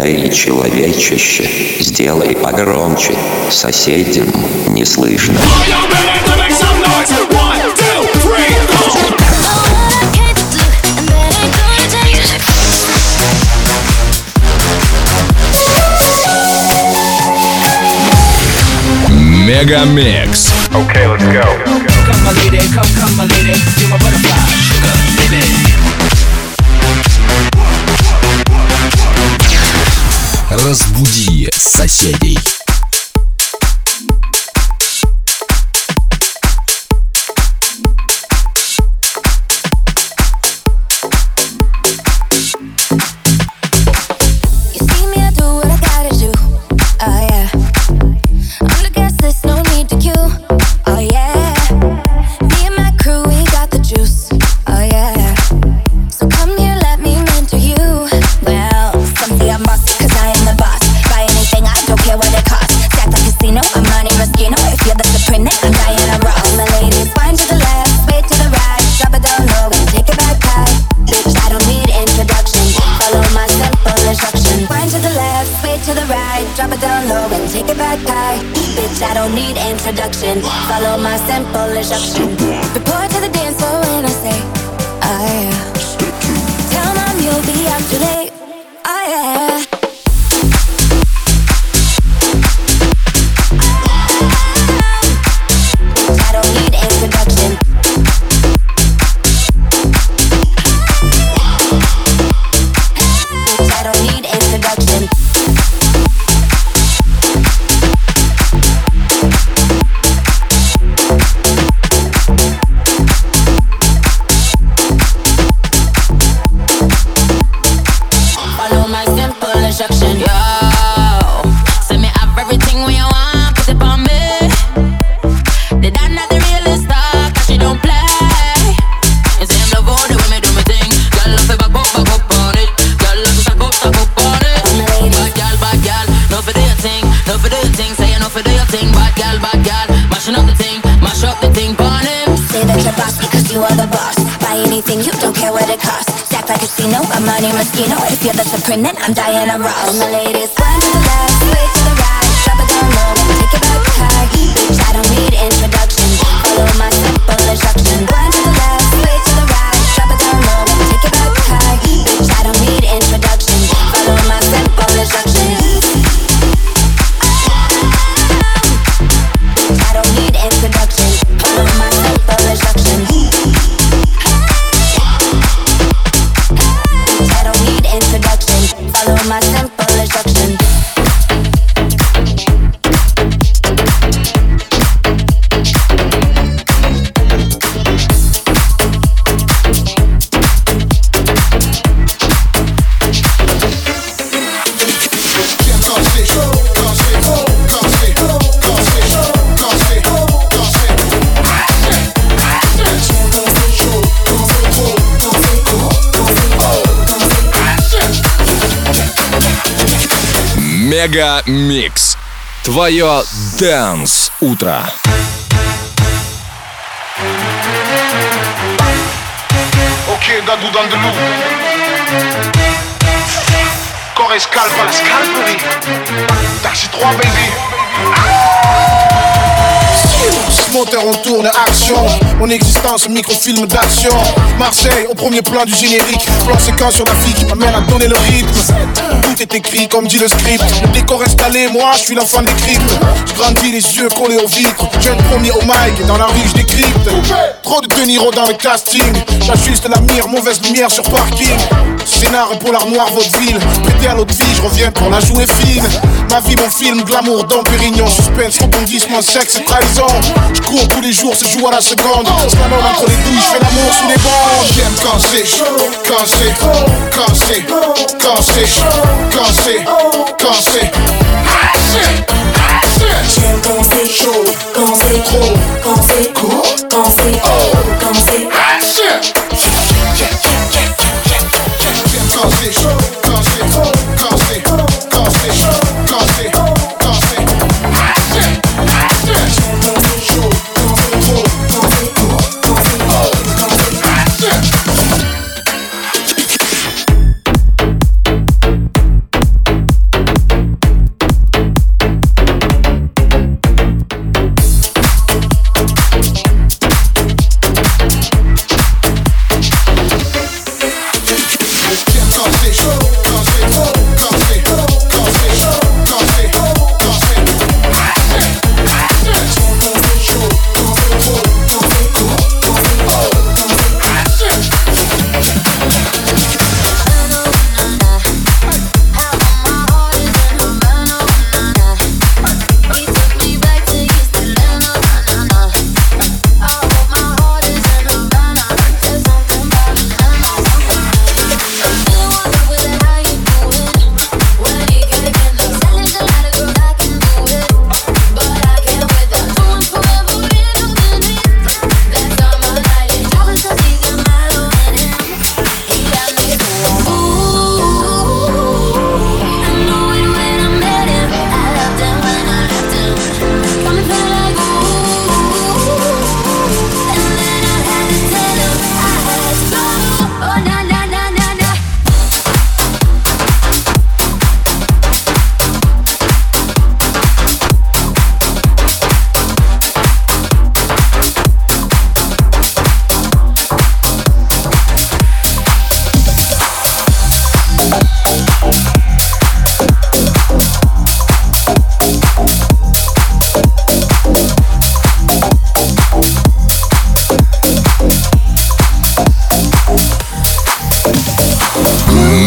Эй, человечище, сделай погромче, соседям не слышно. Мегамикс. Okay, let's go. Come my lady, come my lady, you're my butterfly, sugar, baby. Разбуди соседей. Introduction. Follow my simple instruction. Report to the dance floor when I say, oh yeah. Tell mom you'll be out too late. Oh yeah. I don't need introduction. I don't need introduction. I'm Money Moschino. If you're the Supreme, then I'm Diana Ross. All my ladies, one to the left, way to the right. Drop it down low, take it back high. Bitch, I don't need introduction. Follow my simple instruction. One to the left, way to the right. Drop it down low, take it back high. Bitch, I don't need introduction. Follow my simple instruction. I don't need introduction. Follow my simple instruction. Follow my simple instruction. Мегамикс. Твое Dance утро. Ok, Dadou dans de loup. Corps et scalp à la scalperie. Taxi 3 baby. Moteur on tourne, action. Mon existence, microfilm d'action. Marseille, au premier plan du générique. Plan séquence sur la fille qui m'amène à donner le rythme. Tout est écrit comme dit le script. Le décor installé, moi je suis l'enfant des cryptes. Je grandis les yeux collés aux vitres. Jeune premier au mic, dans la rue je décrypte. Trop de De Niro dans le casting. J'ajuste la mire, mauvaise lumière sur parking. Scénar pour l'armoire vaudeville. Prêté à l'autre vie, je reviens pour la jouer fine. Ma vie, mon film, glamour, dans Pérignon. Suspense, rebondissement, sexe et trahison. Je cours tous les jours, se joue à la seconde. Slalom entre les douilles, je fais l'amour sous les bandes. J'aime quand c'est chaud, quand c'est, quand c'est, quand c'est chaud, quand c'est, quand c'est. J'aime quand c'est chaud, quand c'est trop, quand c'est court, quand c'est haut, quand c'est Quand c'est chaud, quand c'est trop, quand c'est, quand c'est chaud, quand c'est, quand c'est.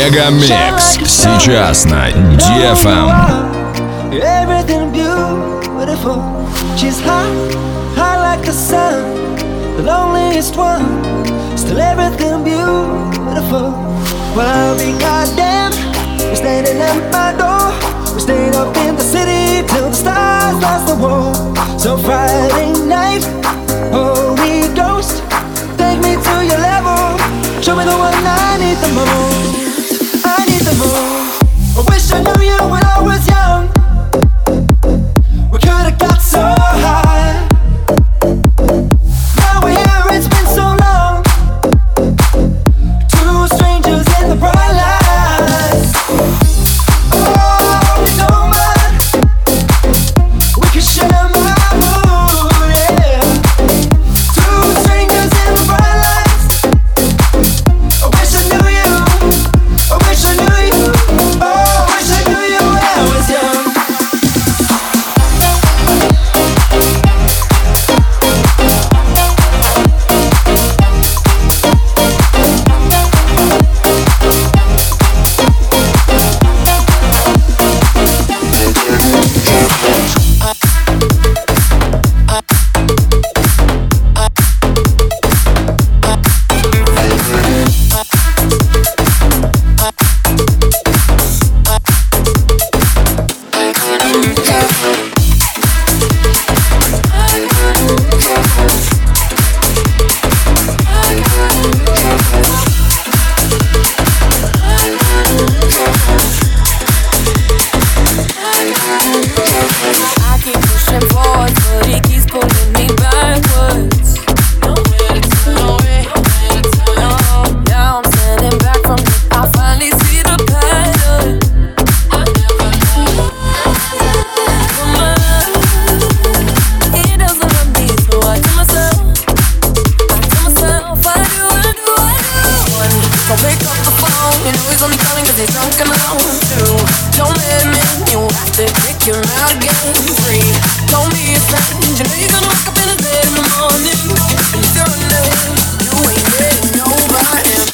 Мегамикс сейчас на DFM. Everything beautiful. She's hot, hot like the sun. The loneliest one. Still everything beautiful. Well, I'll be goddamn. We're standing at my door. We stayed up in the city till the stars lost the war. So Friday night, Holy Ghost, take me to your level. Show me the one I need the most. I need the most. I wish I knew you when I was young. We could've got so high. Now we're here, it's been so long. Two strangers in the bright lights. Oh, don't mind. We can share my mood, yeah. Two strangers in the bright lights. I wish I knew you. I wish I knew you. Oh, I wish I knew you when I was young. I keep pushing forward, but he keeps pulling me backwards. Nowhere to turn, nowhere to turn. Now I'm standing back from it. I finally see the pattern. I never knew. He doesn't love me, so I tell myself, I do. One, don't pick up the phone. You know he's only calling 'cause he's drunk and alone. Two, don't let him in. You have to kick him out again. Three, don't be a friend. You know you're gonna wake up in his bed in the morning. And if you're in there, you ain't getting over him.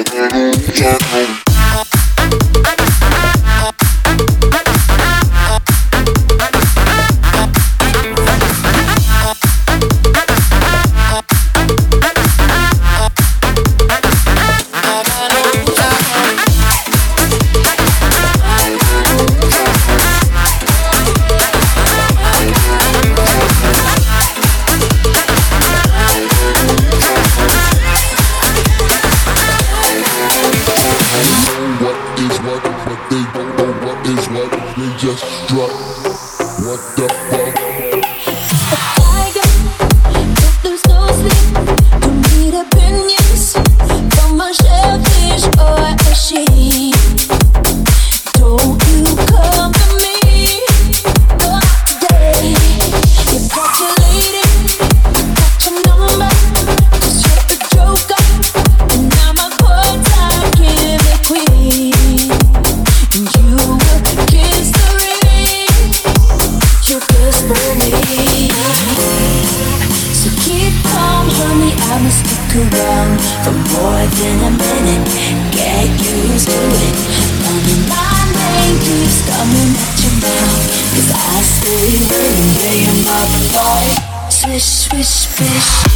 Swish, swish, swish.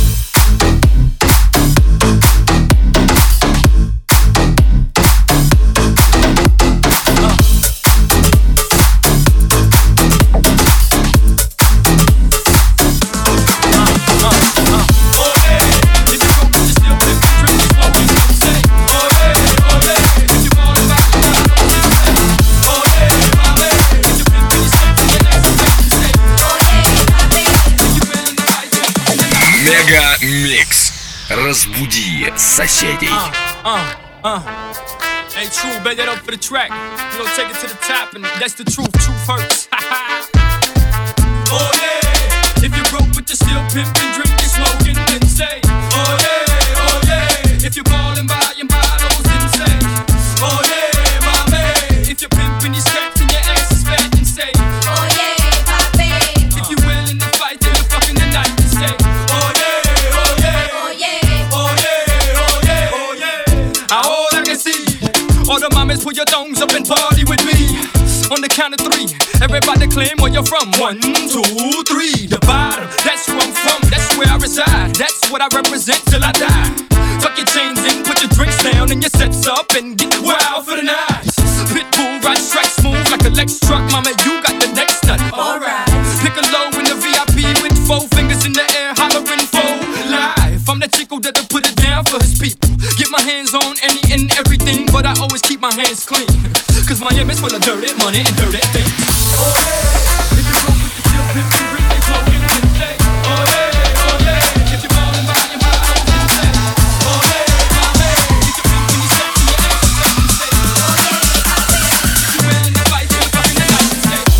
Мегамикс. Разбуди соседей. Hey, true, bet that up for the track. You know, take it to the top, and that's the truth. Truth hurts. Oh yeah, if you're broke but you're still pimping, drinking, smoking, then say, oh yeah. If you're balling by your bottles, then say, oh yeah, mommy. If you're pimping your skirts and your ass is fat, then say, oh yeah, papi. If you're willing to fight till the fucking the night, then say, oh yeah, oh yeah, oh yeah, oh yeah, oh yeah, oh yeah. Ahora que sí, all the mamas on the count of three. Everybody claim where you're from. 1, 2, 3. The bottom, that's where I'm from. That's where I reside. That's what I represent till I die. Tuck your chains in, put your drinks down, and your sets up, and get wild for the night. Pitbull, ride strike smooth like a Lex truck. Mama, you got the next nut. Alright. Pick a low in the VIP with 4 fingers in the air, hollering for life. I'm the chico that'll put it down for his people. Get my hands on any and everything, but I always keep my hands clean. Cause Miami's full of dirty money and dirty things. Oh yeah, if you roll with the chill pimp, you bring your clothes in the day. Oh yeah, if you're ballin' by your mind, I don't say. Oh yeah, get your feet when you step to your ass, you say. Oh yeah, if you're wearing that white, you're fucking the night and say.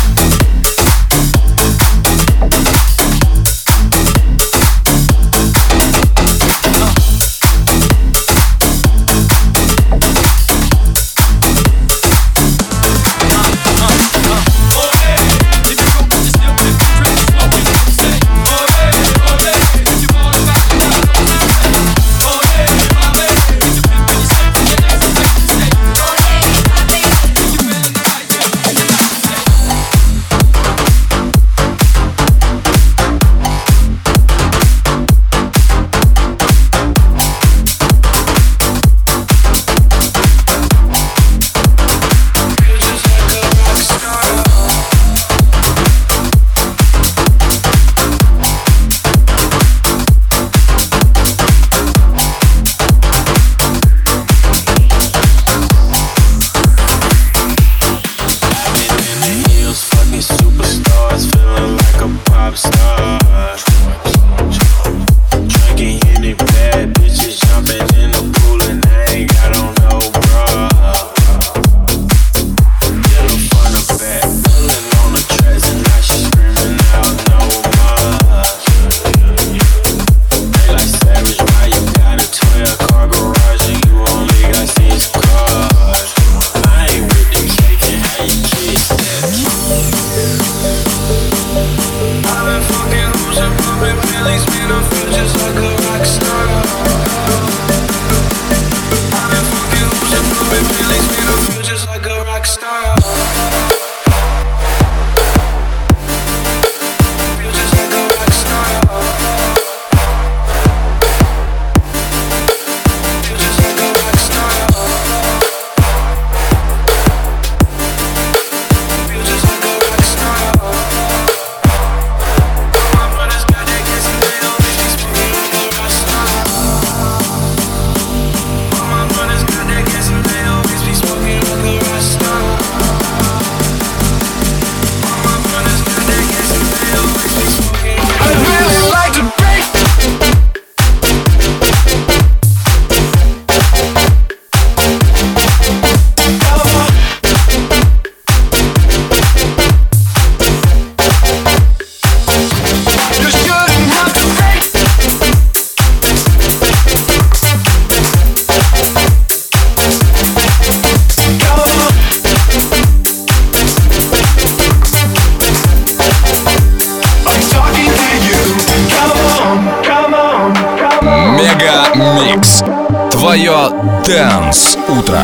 Микс. Твое Dance утро.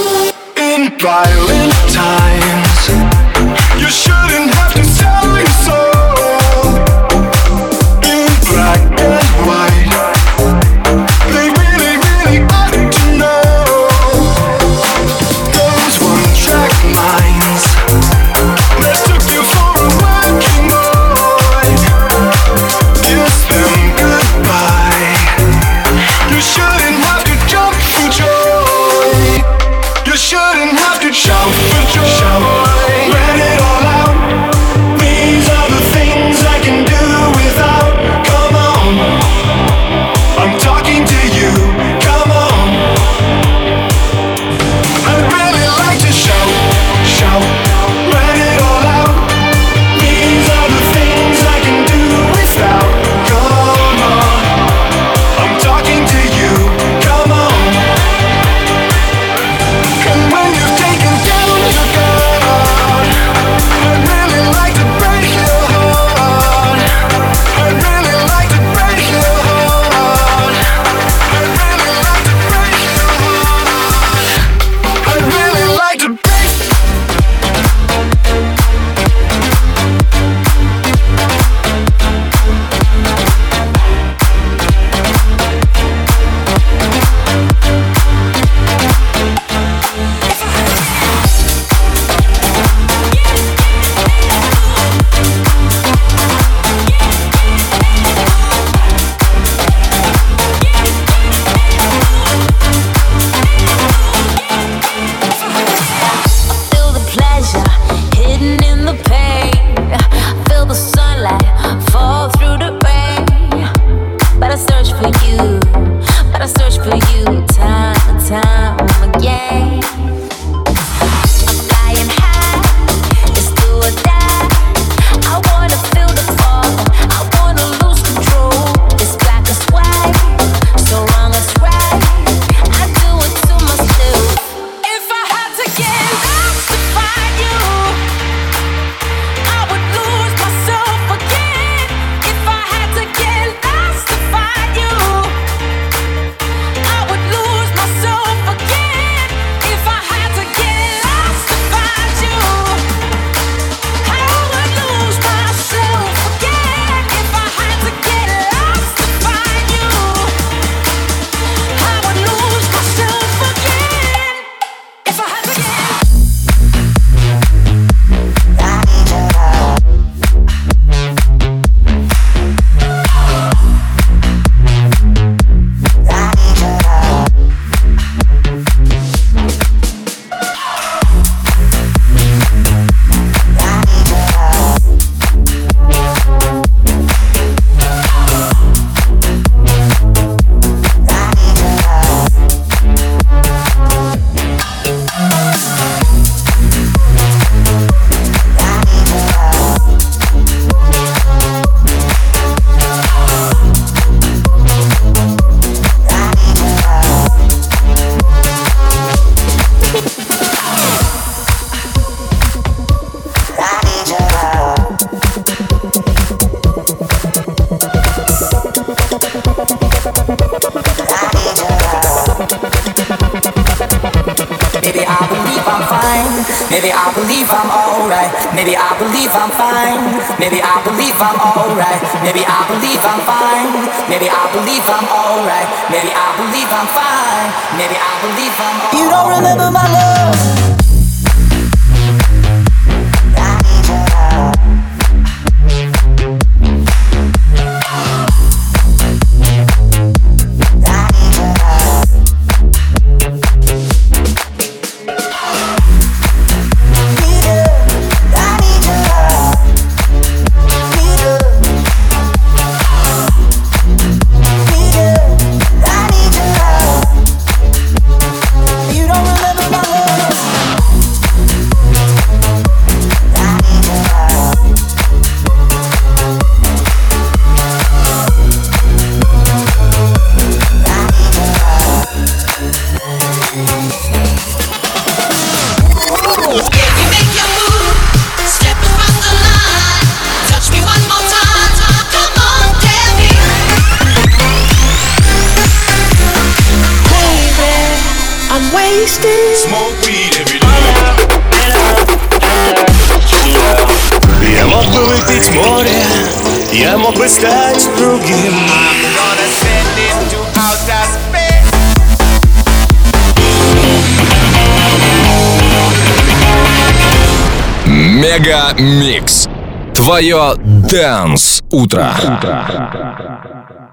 In violent times, you shouldn't have to sell your soul. In black and white, they really, really ought to know. Those one-track minds that took you for a working boy, kiss them goodbye. You shouldn't have to jump for joy. You shouldn't have to jump for Maybe I believe I'm alright. Maybe I believe I'm fine. Maybe I believe I'm alright. Maybe I believe I'm fine. Maybe I believe I'm alright. Maybe I believe I'm fine. Maybe I believe I'm alright. You don't remember my love. Smoke weed every day. Я мог бы выпить море, я мог бы стать другим. I'm gonna send it to outer space. Мега Микс. Твое Dance утро.